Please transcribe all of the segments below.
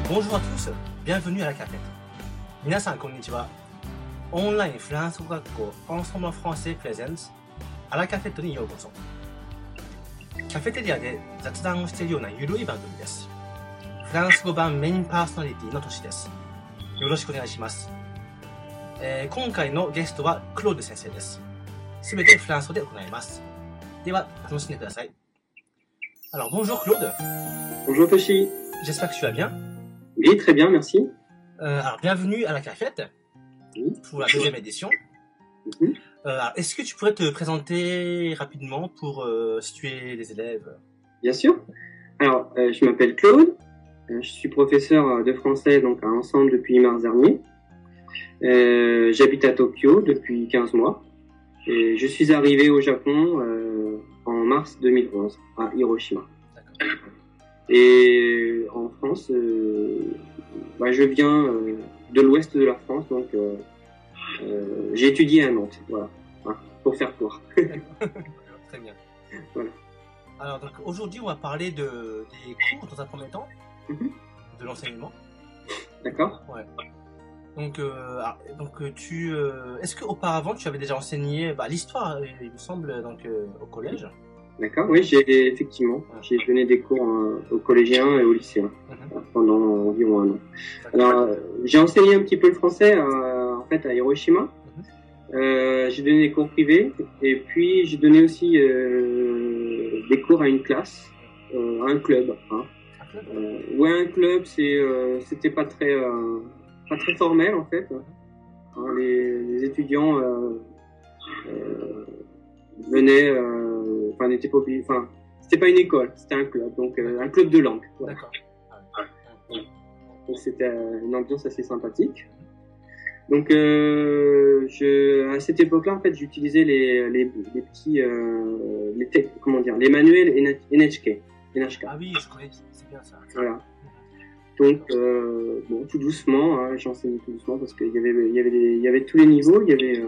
Bonjour à tous, bienvenue à la cafette. 皆さんこんにちは。オンラインフランス語学校エンソムフランセプレゼンツアラカフェットにようこそ。カフェテリアで雑談をしているようなゆるい番組です。フランス語版メインパーソナリティのトシです。よろしくお願いします。今回のゲストはクロード先生です。すべてフランス語で行います。では楽しんでください。Alors bonjour Claude. Bonjour Toshi. J'espère que tu vas bien. Oui, très bien, merci. Alors bienvenue à la cafette pour la deuxième édition. Alors, est-ce que tu pourrais te présenter rapidement pour situer les élèves? Bien sûr. Alors, je m'appelle Claude. Je suis professeur de français donc à Ensemble depuis mars dernier. J'habite à Tokyo depuis 15 mois. Et je suis arrivé au Japon en mars 2011 à Hiroshima. D'accord. Et en France, je viens de l'ouest de la France, donc j'ai étudié à Nantes, voilà, pour faire court. Très bien. Voilà. Alors donc aujourd'hui on va parler des cours dans un premier temps, de l'enseignement. D'accord. Ouais. Donc est-ce qu'auparavant tu avais déjà enseigné l'histoire, il me semble, donc au collège? D'accord, oui, j'ai donné des cours aux collégiens et aux lycéens pendant environ un an. Alors, j'ai enseigné un petit peu le français en fait à Hiroshima. J'ai donné des cours privés et puis j'ai donné aussi des cours à une classe, à un club. Un club, c'était pas très formel en fait. Les étudiants venaient, n'étaient pas obligés, c'était pas une école, c'était un club, donc un club de langue. Voilà. D'accord. Donc c'était une ambiance assez sympathique. Donc à cette époque-là, en fait, j'utilisais les petits, les manuels NHK. Ah oui, je connais, c'est bien ça. Voilà. Donc tout doucement, j'enseignais tout doucement parce qu'il y avait tous les niveaux, il y avait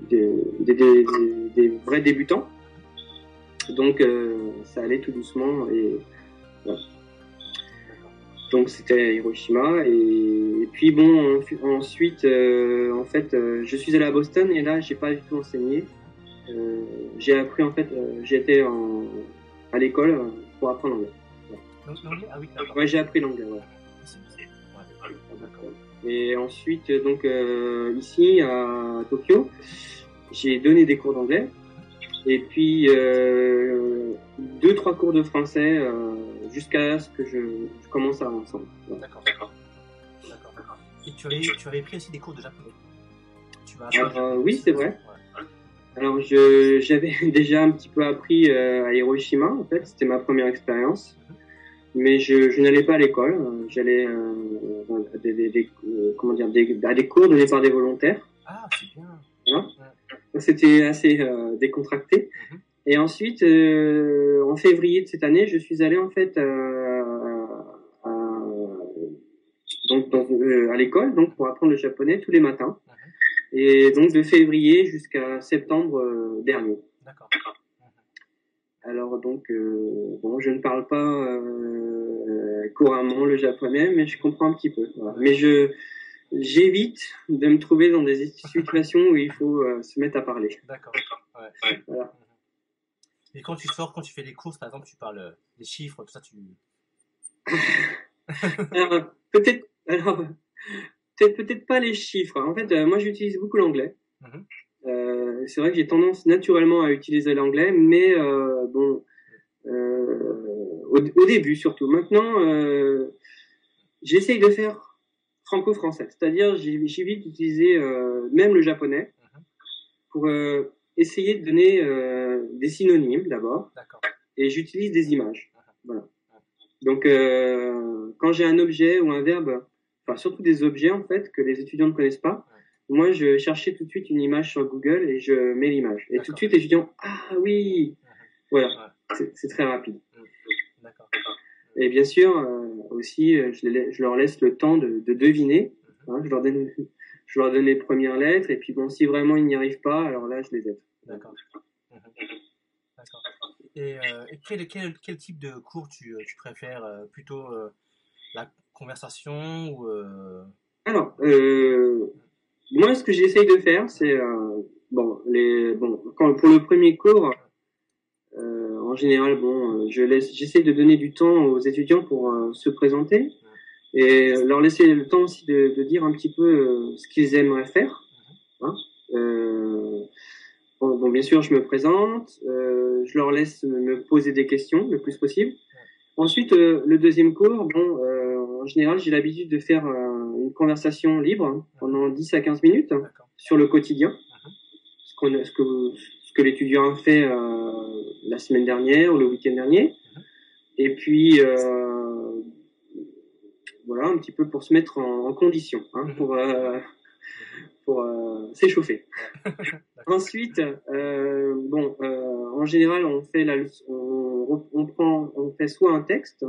des vrais débutants. Donc ça allait tout doucement et voilà. Donc c'était Hiroshima et puis bon ensuite en fait je suis allé à Boston et là j'ai pas du tout enseigné. J'ai appris en fait j'étais à l'école pour apprendre l'anglais. Voilà. L'anglais, ah oui. Ouais, j'ai appris l'anglais. Voilà. Et ensuite donc ici à Tokyo j'ai donné des cours d'anglais. Et puis 2-3 cours de français jusqu'à ce que je commence à ensemble. Voilà. D'accord. Et tu avais pris aussi des cours de japonais. Oui, c'est vrai. Ouais. Alors j'avais déjà un petit peu appris à Hiroshima, en fait, c'était ma première expérience. Mais je n'allais pas à l'école, j'allais à des cours donnés par des volontaires. Ah, c'est bien. Voilà. Donc c'était assez décontracté. Et ensuite, en février de cette année, je suis allé en fait à l'école, donc pour apprendre le japonais tous les matins. Et donc de février jusqu'à septembre dernier. D'accord. Alors donc je ne parle pas couramment le japonais, mais je comprends un petit peu. Voilà. Mais j'évite de me trouver dans des situations où il faut se mettre à parler. D'accord. Ouais. Voilà. Et quand tu fais les courses, par exemple, tu parles des chiffres, tout ça, tu... Alors, peut-être pas les chiffres. En fait, moi, j'utilise beaucoup l'anglais. C'est vrai que j'ai tendance naturellement à utiliser l'anglais, mais au début surtout. Maintenant, j'essaye de faire franco-français, c'est-à-dire j'évite d'utiliser même le japonais pour essayer de donner des synonymes d'abord. D'accord. Et j'utilise des images. Voilà. Donc quand j'ai un objet ou un verbe, surtout des objets en fait que les étudiants ne connaissent pas, moi je cherchais tout de suite une image sur Google et je mets l'image. Et tout de suite les étudiants, ah oui, voilà, c'est très rapide. D'accord. Et bien sûr aussi je leur laisse le temps de deviner. Je leur donne les premières lettres et puis bon, si vraiment ils n'y arrivent pas, alors là je les aide. D'accord. Et quel type de cours tu préfères, plutôt la conversation ou Alors, moi, ce que j'essaye de faire, c'est pour le premier cours, en général, j'essaie de donner du temps aux étudiants pour se présenter et leur laisser le temps aussi de dire un petit peu ce qu'ils aimeraient faire. Hein. Bien sûr, je me présente, je leur laisse me poser des questions le plus possible. Ensuite, le deuxième cours, en général, j'ai l'habitude de faire une conversation libre pendant 10 à 15 minutes sur le quotidien, ce que l'étudiant a fait la semaine dernière ou le week-end dernier. Et puis, voilà, un petit peu pour se mettre en condition, pour s'échauffer. Ensuite, en général, on fait on fait soit un texte,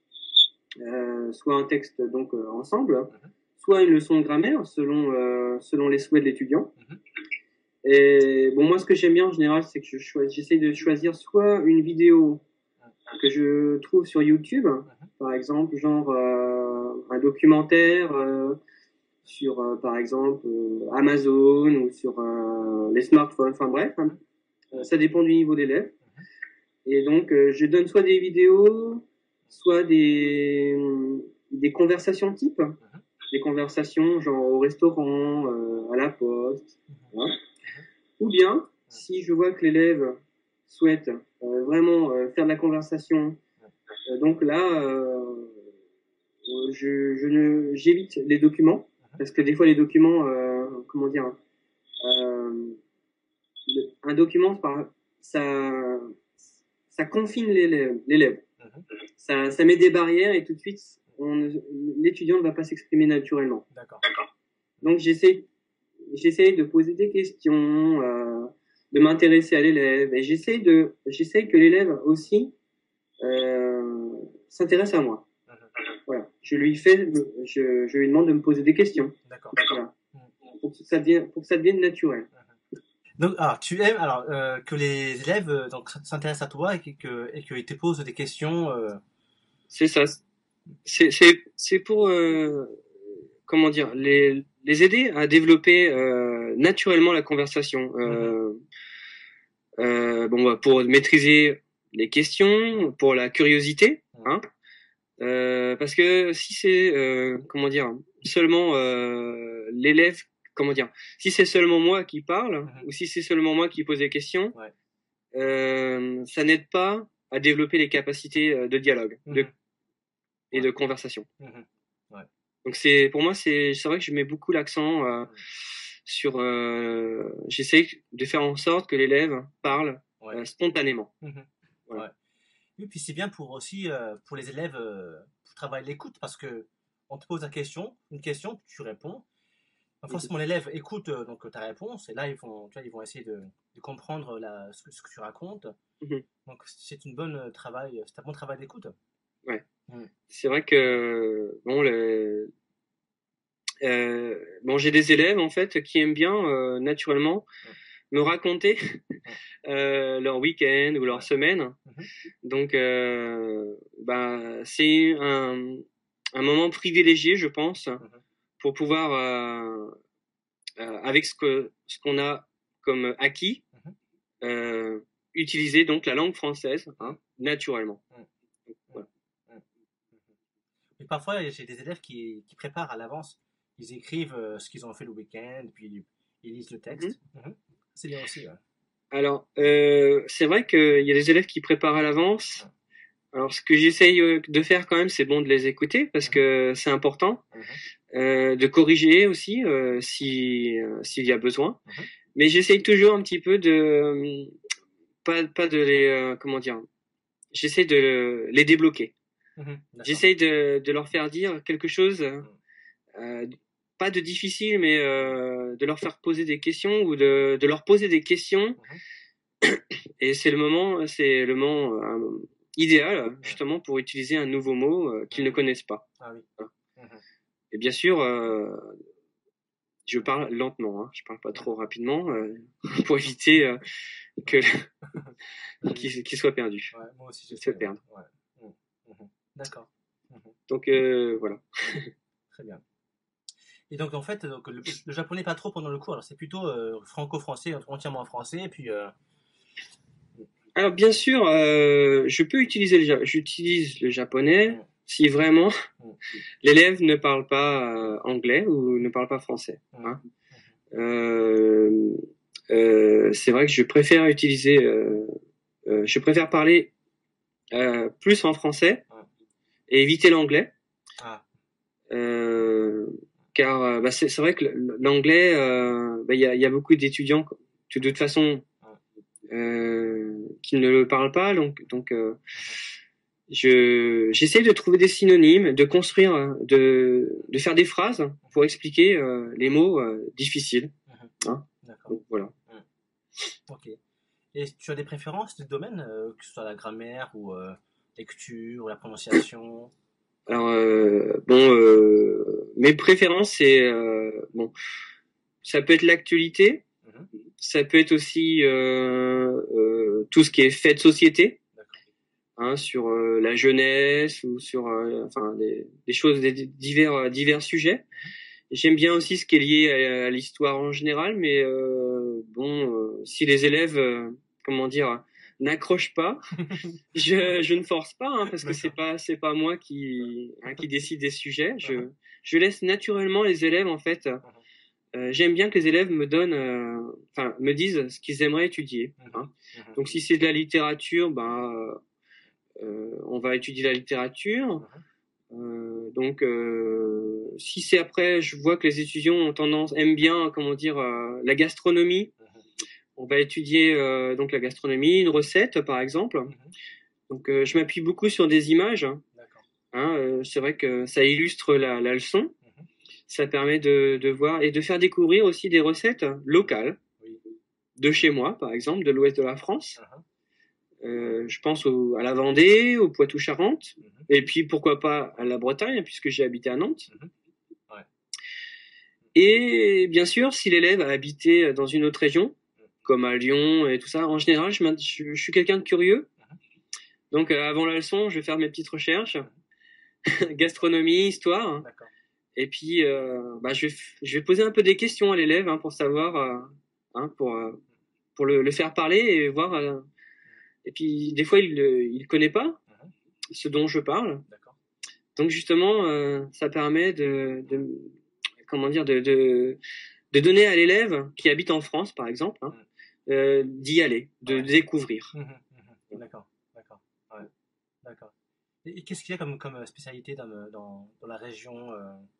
donc ensemble, soit une leçon de grammaire selon les souhaits de l'étudiant. Et moi, ce que j'aime bien en général, c'est que j'essaie de choisir soit une vidéo que je trouve sur YouTube, par exemple, genre un documentaire sur, par exemple, Amazon ou sur les smartphones, enfin bref, ça dépend du niveau d'élève. Et donc, je donne soit des vidéos, soit des conversations type, des conversations genre au restaurant, à la poste, voilà. Ou bien, si je vois que l'élève souhaite vraiment faire de la conversation, donc là, j'évite les documents, parce que des fois les documents, un document, ça confine l'élève. Ça met des barrières et tout de suite, l'étudiant ne va pas s'exprimer naturellement. D'accord. Donc j'essaie de poser des questions, de m'intéresser à l'élève, et j'essaie que l'élève aussi s'intéresse à moi. Voilà. Je lui demande de me poser des questions. D'accord. Voilà. Pour que ça devienne naturel. Donc, tu aimes que les élèves s'intéressent à toi et qu'ils te posent des questions. C'est ça. C'est pour comment dire, les aider à développer naturellement la conversation. Pour maîtriser les questions, pour la curiosité, hein. Parce que si c'est seulement l'élève, si c'est seulement moi qui parle ou si c'est seulement moi qui pose des questions, ça n'aide pas à développer les capacités de dialogue et de conversation. Ouais. Donc pour moi c'est vrai que je mets beaucoup l'accent sur j'essaie de faire en sorte que l'élève parle spontanément. Voilà. Ouais. Et puis c'est bien pour les élèves pour travailler l'écoute, parce que on te pose une question, tu réponds. Forcément l'élève écoute donc ta réponse, et là ils vont essayer de comprendre ce que tu racontes. Donc c'est un bon travail d'écoute. Ouais. C'est vrai que j'ai des élèves en fait qui aiment bien naturellement me raconter leur week-end ou leur semaine. Donc c'est un moment privilégié, je pense, pour pouvoir avec ce qu'on a comme acquis utiliser donc la langue française naturellement. Voilà. Mais parfois j'ai des élèves qui préparent à l'avance. Ils écrivent ce qu'ils ont fait le week-end, puis ils lisent le texte. C'est bien aussi. Ouais. Alors, c'est vrai qu'il y a des élèves qui préparent à l'avance. Alors, ce que j'essaye de faire quand même, c'est bon de les écouter parce que c'est important. De corriger aussi s'il y a besoin. Mais j'essaye toujours un petit peu de pas de les j'essaie de les débloquer. J'essaye de leur faire dire quelque chose pas de difficile, mais de leur faire poser des questions ou de leur poser des questions. Et c'est le moment idéal justement pour utiliser un nouveau mot qu'ils ne connaissent pas. Ah oui. Et bien sûr, je parle lentement, je parle pas trop rapidement pour éviter qu'ils soient perdus. Ouais, moi aussi, se perdent. Ouais. D'accord. Donc voilà. Très bien. Et donc en fait, donc, le japonais pas trop pendant le cours, alors c'est plutôt franco-français, entièrement en français, et puis... Alors bien sûr, j'utilise le japonais si vraiment l'élève ne parle pas anglais ou ne parle pas français. Hein. C'est vrai que je préfère parler plus en français et éviter l'anglais. Car c'est vrai que l'anglais, il y a beaucoup d'étudiants de toute façon qui ne le parlent pas, donc j'essaie de trouver des synonymes, de construire, de faire des phrases pour expliquer les mots difficiles. Hein. Donc, voilà. Ok. Et tu as des préférences de domaine, que ce soit la grammaire ou lecture ou la prononciation? Alors mes préférences c'est ça peut être l'actualité, ça peut être aussi tout ce qui est fait de société, hein, sur la jeunesse ou sur des choses, des divers sujets. J'aime bien aussi ce qui est lié à l'histoire en général, mais si les élèves n'accrochent pas, je ne force pas, hein, parce que c'est pas moi qui décide des sujets. Je laisse naturellement les élèves en fait. J'aime bien que les élèves me disent ce qu'ils aimeraient étudier. Hein. Donc si c'est de la littérature, on va étudier la littérature. Si c'est après, je vois que les étudiants aiment bien, la gastronomie. On va étudier donc la gastronomie, une recette par exemple. Donc je m'appuie beaucoup sur des images. Hein, c'est vrai que ça illustre la leçon. Ça permet de voir et de faire découvrir aussi des recettes locales de chez moi, par exemple, de l'ouest de la France. Je pense à la Vendée, au Poitou-Charentes, et puis pourquoi pas à la Bretagne, puisque j'ai habité à Nantes. Et bien sûr, si l'élève a habité dans une autre région, comme à Lyon et tout ça, en général, je suis quelqu'un de curieux. Donc avant la leçon, je vais faire mes petites recherches, gastronomie, histoire. Et puis, je vais poser un peu des questions à l'élève pour savoir, pour le faire parler et voir. Et puis, des fois, il connaît pas ce dont je parle. Donc, justement, ça permet de donner à l'élève qui habite en France, par exemple, d'y aller, de découvrir. D'accord. D'accord. Et qu'est-ce qu'il y a comme spécialité dans la région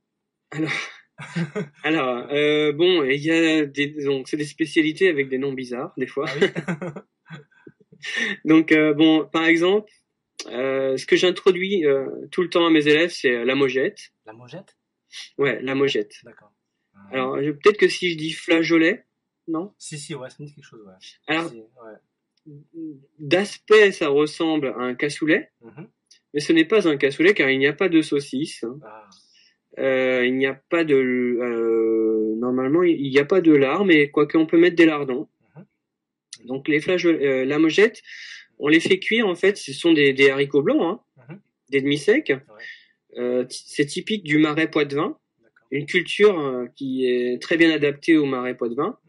Alors, il y a c'est des spécialités avec des noms bizarres, des fois. Ah oui. Donc, par exemple, ce que j'introduis tout le temps à mes élèves, c'est la mojette. La mojette? Ouais, la mojette. D'accord. Alors, peut-être que si je dis flageolet, non? Si, ouais, ça me dit quelque chose, ouais. Alors, d'aspect, ça ressemble à un cassoulet, mais ce n'est pas un cassoulet car il n'y a pas de saucisse. Il n'y a pas normalement, il n'y a pas de lard, mais quoique on peut mettre des lardons. Donc la mojette, on les fait cuire en fait. Ce sont des haricots blancs, des demi-secs. C'est typique du Marais Poitevin, une culture qui est très bien adaptée au Marais Poitevin.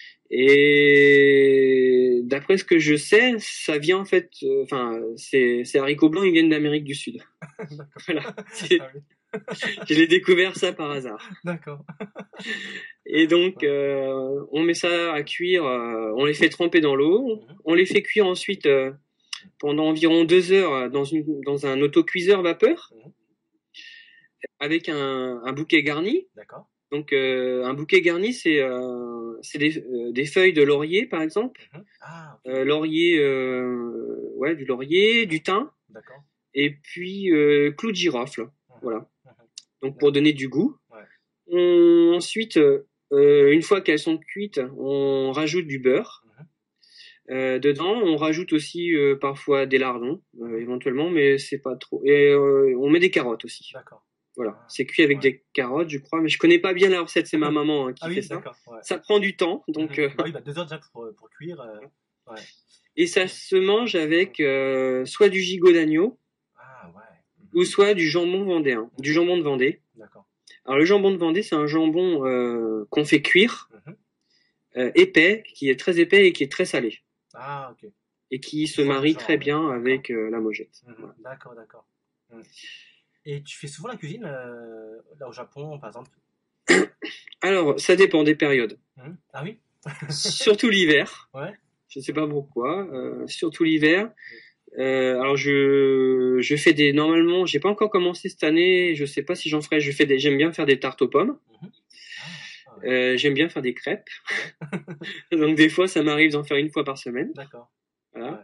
Et d'après ce que je sais, ça vient en fait, ces haricots blancs, ils viennent d'Amérique du Sud. Voilà. Je l'ai découvert ça par hasard. D'accord. Et donc, on met ça à cuire, on les fait tremper dans l'eau, on les fait cuire ensuite pendant environ 2 heures dans un autocuiseur vapeur, avec un bouquet garni. D'accord. Donc, un bouquet garni, c'est des feuilles de laurier, par exemple. Laurier, du laurier, du thym. D'accord. Et puis, clou de girofle. Voilà. Donc, pour donner du goût. Ensuite, une fois qu'elles sont cuites, on rajoute du beurre. Dedans, on rajoute aussi parfois des lardons, éventuellement, mais c'est pas trop. Et on met des carottes aussi. D'accord. Voilà, c'est cuit avec des carottes, je crois, mais je connais pas bien la recette, c'est ma maman qui fait ça. Ouais. Ça prend du temps, donc. 2 heures déjà pour cuire. Et ça se mange avec soit du gigot d'agneau, ou soit du jambon vendéen, du jambon de Vendée. D'accord. Alors le jambon de Vendée, c'est un jambon qu'on fait cuire, épais, qui est très épais et qui est très salé. Ah, ok. Et qui se marie très bien avec la mojette. Voilà. D'accord, d'accord. Et tu fais souvent la cuisine là au Japon, par exemple? Alors, ça dépend des périodes. Ah oui? Surtout l'hiver. Ouais. Je ne sais pas pourquoi. Surtout l'hiver. Alors je fais des. Normalement, j'ai pas encore commencé cette année. Je sais pas si j'en ferai. J'aime bien faire des tartes aux pommes. J'aime bien faire des crêpes. Donc des fois, ça m'arrive d'en faire une fois par semaine. D'accord. Voilà.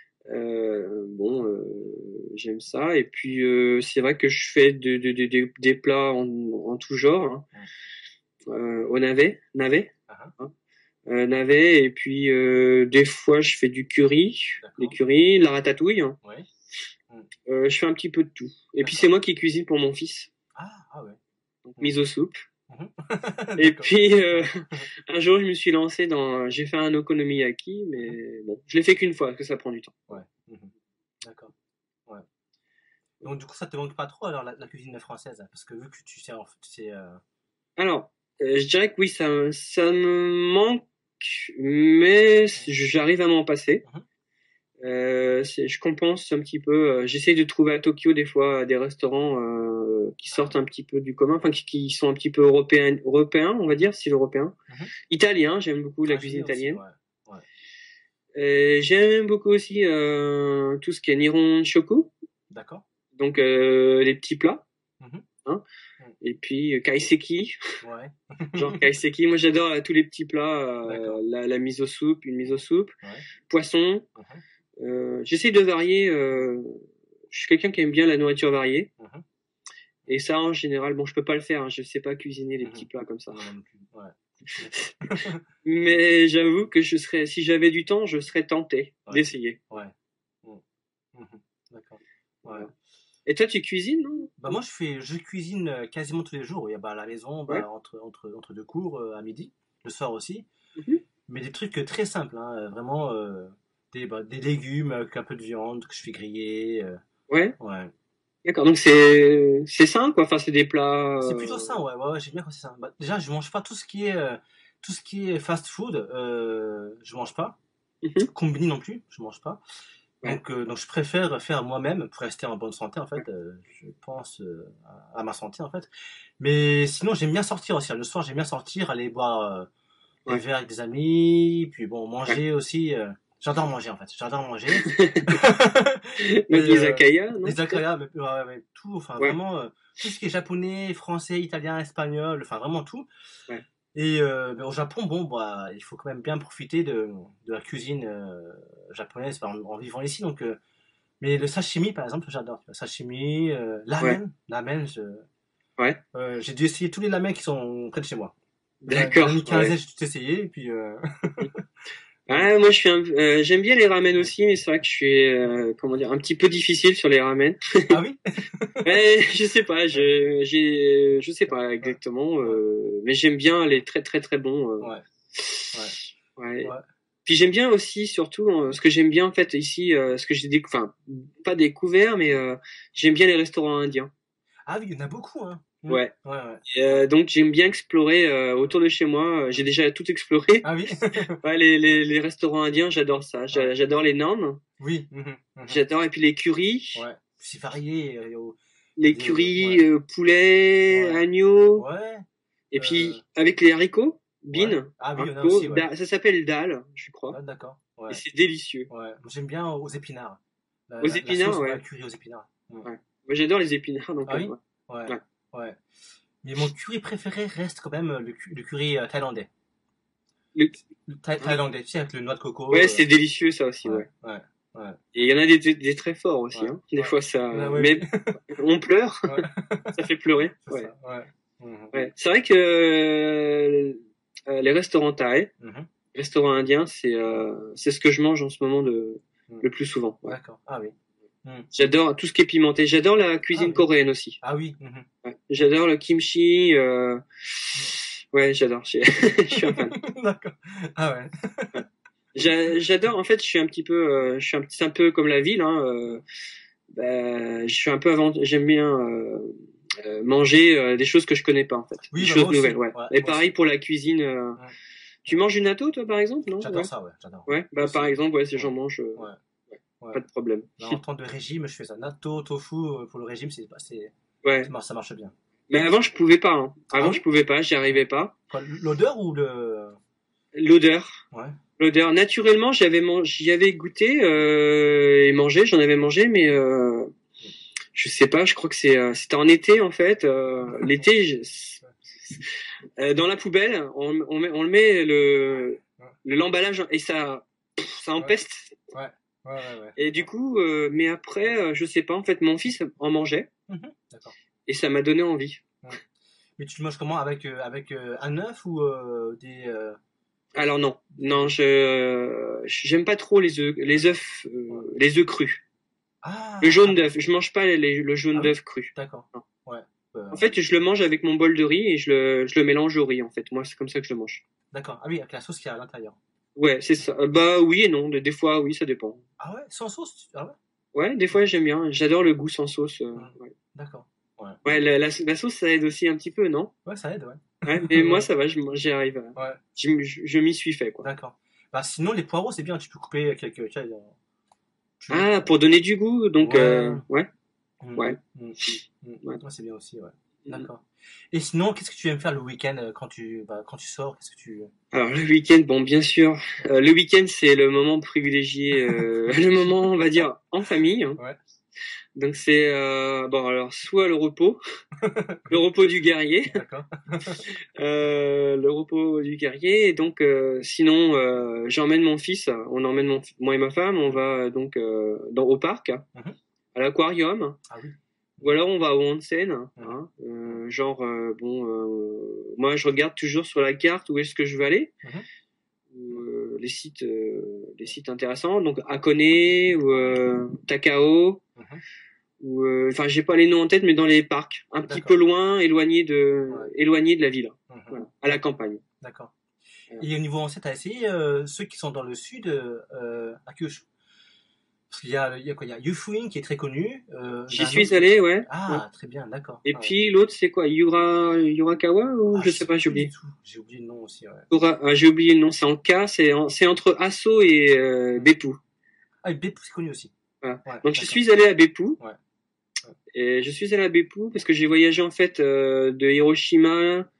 J'aime ça. Et puis c'est vrai que je fais des plats en tout genre. Au navet. Navet, et puis des fois je fais du curry, la ratatouille. Ouais. Je fais un petit peu de tout. Et puis c'est moi qui cuisine pour mon fils. Ah ouais. Donc, miso soupe. Et puis un jour je me suis lancé j'ai fait un okonomiyaki, mais bon, je l'ai fait qu'une fois parce que ça prend du temps. Ouais. D'accord. Ouais. Donc du coup ça te manque pas trop alors la cuisine française, parce que vu que tu sais Alors je dirais que oui, ça me manque, mais j'arrive à m'en passer. Je compense un petit peu. J'essaye de trouver à Tokyo des fois des restaurants qui sortent un petit peu du commun, enfin qui sont un petit peu européens, on va dire, style européen. Italien, j'aime beaucoup la cuisine italienne. Aussi, ouais. J'aime beaucoup aussi tout ce qui est Nihon Shoku. D'accord. Donc les petits plats. Et puis kaiseki. Ouais. Genre kaiseki, moi j'adore tous les petits plats, la miso soupe, une miso soupe, poisson. J'essaie de varier. Je suis quelqu'un qui aime bien la nourriture variée. Et ça, en général, bon, je peux pas le faire. Je sais pas cuisiner les petits plats comme ça. Non plus. Ouais. Mais j'avoue que si j'avais du temps, je serais tenté d'essayer. Ouais. D'accord. Ouais. Et toi, tu cuisines, non? Bah moi, je cuisine quasiment tous les jours. À la maison, entre deux cours à midi, le soir aussi. Mais des trucs très simples, vraiment des légumes avec un peu de viande que je fais griller. Ouais. D'accord, donc c'est sain, quoi. Enfin, c'est des plats. C'est plutôt sain, ouais, j'aime bien quand c'est sain. Bah, déjà, je mange pas tout ce qui est fast food. Je mange pas. Combini non plus, je mange pas. Donc je préfère faire moi-même pour rester en bonne santé en fait. Je pense à ma santé en fait. Mais sinon j'aime bien sortir aussi. Le soir j'aime bien sortir, aller boire des verres avec des amis, puis bon manger aussi. J'adore manger en fait. J'adore manger. Mais les izakaya, non? Les izakaya, mais tout. Enfin vraiment tout ce qui est japonais, français, italien, espagnol. Enfin vraiment tout. Et au Japon, il faut quand même bien profiter de la cuisine japonaise en vivant ici. Donc, mais le sashimi, par exemple, j'adore. Sashimi, lamen, j'ai dû essayer tous les lamens qui sont près de chez moi. D'accord. J'ai mis 15 j'ai tout essayé, et puis. Moi j'aime bien les ramen aussi, mais c'est vrai que je suis un petit peu difficile sur les ramen. Ah oui. Je sais pas, je sais pas exactement, mais j'aime bien les très très très bons. Ouais. Puis j'aime bien aussi surtout ce que j'aime bien en fait ici, ce que j'ai pas découvert, mais j'aime bien les restaurants indiens. Ah oui, il y en a beaucoup, hein. Ouais. Donc j'aime bien explorer autour de chez moi. J'ai déjà tout exploré. Ah oui. les restaurants indiens, j'adore ça. J'adore les naan. Oui. J'adore, et puis les currys. Ouais. C'est varié. Les currys poulet, agneau. Ouais. Et puis avec les haricots, bean. Ah oui, il y en a aussi. Ça s'appelle dal, je crois. Ah, d'accord. Et c'est délicieux. Ouais. J'aime bien aux épinards. Aux épinards, la curry aux épinards. Ouais. Moi j'adore les épinards, donc. Ah oui. Ouais. Mais mon curry préféré reste quand même le curry thaïlandais. Le thaïlandais, tu sais, avec le noix de coco. Ouais, c'est délicieux ça aussi, ouais. Et il y en a des très forts aussi, hein. Des fois ça. Mais on pleure. Ça fait pleurer. Ouais. C'est vrai que les restaurants thaï, restaurants indiens, c'est ce que je mange en ce moment le plus souvent. Ouais. D'accord. Ah oui. J'adore tout ce qui est pimenté. J'adore la cuisine coréenne aussi. Ah oui. J'adore le kimchi. Ouais, j'adore. Je suis un fan. D'accord. Ah ouais. J'adore. En fait, je suis un peu comme la ville. Hein. je suis un peu j'aime bien manger des choses que je connais pas en fait, oui, des choses nouvelles. Ouais, et pareil aussi. Pour la cuisine. Tu manges du natto toi par exemple, non? J'adore ça, ouais, j'adore. Ouais, par exemple, j'en mange. Pas de problème. Là, en temps de régime, je fais ça. Natto, tofu, pour le régime, ça marche bien. Mais avant, je pouvais pas. Hein. Avant, je pouvais pas, j'y arrivais pas. Quoi, l'odeur ou l'odeur? Ouais. L'odeur. Naturellement, j'y avais goûté et mangé. J'en avais mangé, mais je sais pas. Je crois que c'était en été en fait. L'été, dans la poubelle, on le met l'emballage et ça empeste. Ouais. Et du coup, mais après, je sais pas. En fait, mon fils en mangeait. D'accord. Et ça m'a donné envie. Mais tu le manges comment, avec un œuf ou des Alors non, j'aime pas trop les œufs crus. Le jaune d'œuf, je mange pas le jaune d'œuf cru. D'accord. Ouais. En fait, je le mange avec mon bol de riz et je le mélange au riz en fait. Moi, c'est comme ça que je le mange. D'accord. Ah oui, avec la sauce qui est à l'intérieur. Ouais, c'est ça. Bah oui et non, des fois oui, ça dépend. Ah ouais, sans sauce? Ah ouais. Ouais, des fois j'aime bien. J'adore le goût sans sauce. Ouais. D'accord. Ouais, la sauce ça aide aussi un petit peu, non? Ouais, ça aide, ouais. Ouais, mais moi ça va, j'y arrive. Ouais. Je m'y suis fait quoi. D'accord. Bah sinon les poireaux c'est bien, tu peux couper quelques. Pour donner du goût, donc ouais. Ouais, c'est bien aussi, ouais. D'accord. Et sinon, qu'est-ce que tu aimes faire le week-end quand tu sors? Qu'est-ce que tu... Alors le week-end, bon bien sûr, le week-end c'est le moment privilégié, le moment on va dire en famille. Hein. Ouais. Donc c'est alors soit le repos, le repos du guerrier. D'accord. Le repos du guerrier. Et donc sinon j'emmène mon fils, moi et ma femme, on va donc au parc, à l'aquarium. Ah oui. Ou alors on va au onsen. Moi je regarde toujours sur la carte où est-ce que je veux aller. Les sites intéressants, donc Hakone ou Takao. Ou enfin j'ai pas les noms en tête, mais dans les parcs, un petit peu loin, éloigné de la ville, voilà, à la campagne. D'accord. Et au niveau onsen, t'as essayé ceux qui sont dans le sud, à Kyushu? Parce qu'il y a Yufuin qui est très connu. J'y suis allé, ouais. Ah, très bien, d'accord. Et puis l'autre, c'est quoi, Yurakawa ou je sais pas, j'ai oublié. J'ai oublié le nom aussi, ouais. J'ai oublié le nom, c'est en K, c'est entre Asso et Beppu. Ah, et Beppu, c'est connu aussi. Voilà. Ouais, donc je suis allé à Beppu. Ouais. Et je suis allé à Beppu parce que j'ai voyagé en fait de Hiroshima.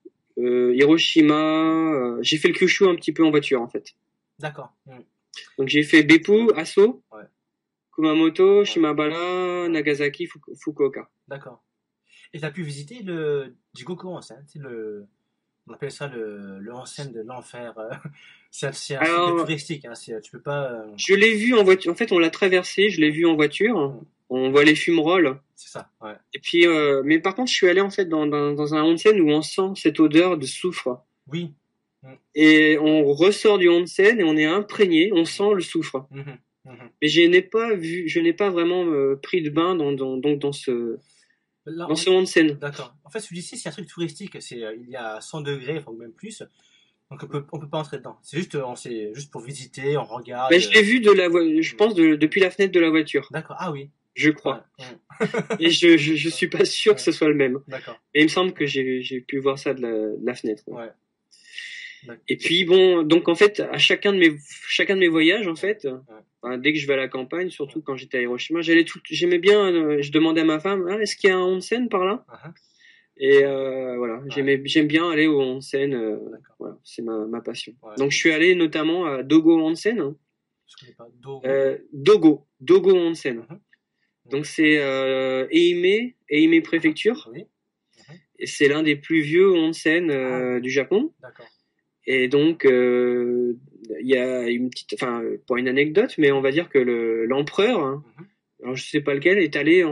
J'ai fait le Kyushu un petit peu en voiture en fait. D'accord. Donc j'ai fait Beppu, Asso, Kumamoto, Shimabara, Nagasaki, Fukuoka. D'accord. Et tu as pu visiter le Jigoku Onsen, on appelle ça le onsen de l'enfer. C'est un site touristique, hein, tu peux pas... Je l'ai vu en voiture, en fait on l'a traversé, je l'ai vu en voiture, on voit les fumerolles. C'est ça, ouais. Et puis, mais par contre je suis allé en fait dans un onsen où on sent cette odeur de soufre. Oui. Et on ressort du onsen et on est imprégné, on sent le soufre. Mais je n'ai pas vraiment pris de bain dans ce onsen. D'accord. En fait, celui-ci, c'est un truc touristique. Il y a 100 degrés, enfin même plus. Donc on peut pas entrer dedans. C'est juste pour visiter, on regarde. Mais je l'ai vu je pense depuis la fenêtre de la voiture. D'accord. Ah oui. Je crois. Ouais. Et je suis pas sûr que ce soit le même. D'accord. Et il me semble que j'ai pu voir ça de la fenêtre. Ouais. Et puis bon, donc en fait, à chacun de mes voyages, en fait, dès que je vais à la campagne, surtout quand j'étais à Hiroshima, j'aimais bien, je demandais à ma femme, est-ce qu'il y a un onsen par là? Et voilà, j'aime bien aller au onsen, voilà, c'est ma passion. Ouais. Donc je suis allé notamment à Dogo Onsen. Je connais pas. Dogo Onsen. Donc c'est Ehime préfecture. Oui. Et c'est l'un des plus vieux onsen du Japon. D'accord. Et donc il y a une petite, enfin pour une anecdote, mais on va dire que l'empereur, alors je sais pas lequel, était allé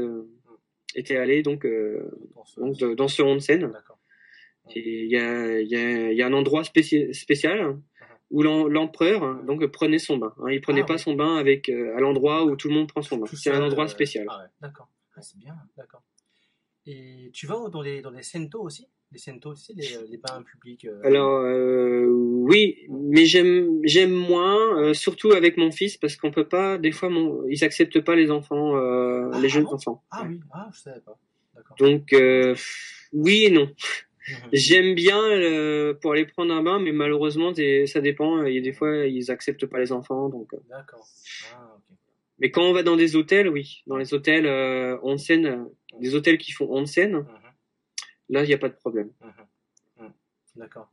donc dans ce onsen. D'accord. Et il y a un endroit spécial où l'empereur donc prenait son bain. Il prenait pas son bain à l'endroit où tout le monde prend son bain. C'est un endroit spécial. Ah ouais, d'accord. Ah, c'est bien, d'accord. Et tu vas dans les sento aussi? les sento, tu sais, les bains publics. Alors oui, mais j'aime moins, surtout avec mon fils, parce qu'on peut pas, des fois, ils acceptent pas les enfants, les jeunes enfants. Ah oui, je savais pas. D'accord. Donc oui et non. J'aime bien pour aller prendre un bain, mais malheureusement, ça dépend. Il y a des fois, ils acceptent pas les enfants, donc. D'accord. Ok. Mais quand on va dans des hôtels, oui, dans les hôtels onsen, des hôtels qui font onsen, là, il n'y a pas de problème. D'accord.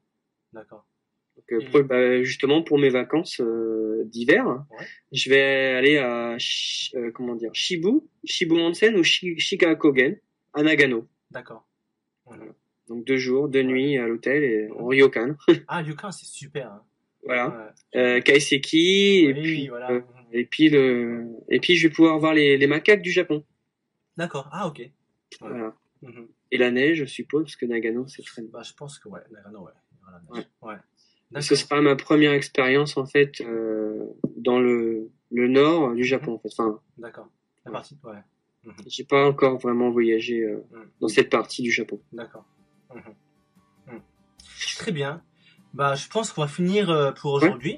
Donc, justement, pour mes vacances d'hiver, je vais aller à Shibu Onsen ou Shikakogen à Nagano. D'accord. Voilà. Donc 2 jours, 2 nuits à l'hôtel et en ryokan. Ah, ryokan, c'est super. Hein. Voilà. Kaiseki et puis je vais pouvoir voir les macaques du Japon. D'accord. Ah, ok. Voilà. Et la neige, je suppose, parce que Nagano, c'est très. Bah, je pense que Nagano, il y aura la neige. Ce sera ma première expérience en fait dans le nord du Japon en fait. Enfin. D'accord. La partie. J'ai pas encore vraiment voyagé dans cette partie du Japon. D'accord. Très bien. Bah, je pense qu'on va finir pour aujourd'hui.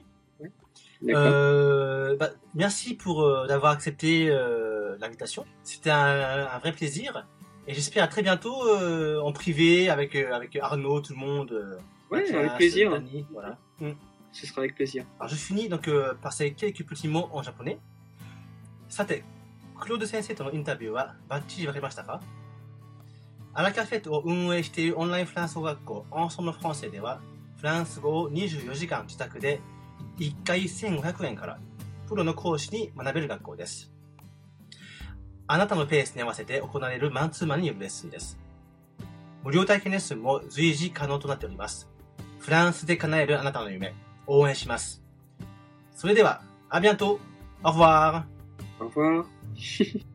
Merci d'avoir accepté l'invitation. C'était un vrai plaisir. Et j'espère à très bientôt en privé avec Arnaud, tout le monde. Mathias, avec plaisir. Dani, voilà. Ce sera avec plaisir. Alors je finis donc par ces quelques petits mots en japonais. さて、クロード先生とのインタビューはバッチリわかりましたか？アラカフェットを運営しているオンラインフランス語学校アンソムフランセでは、フランス語を24時間自宅で1回1500円からプロの講師に学べる学校です。あなたのペースに合わせて行われるマンツーマンによるレッスンです。無料体験レッスンも随時可能となっております。フランスで叶えるあなたの夢、応援します。それでは、à bientôt! Au revoir! Au revoir!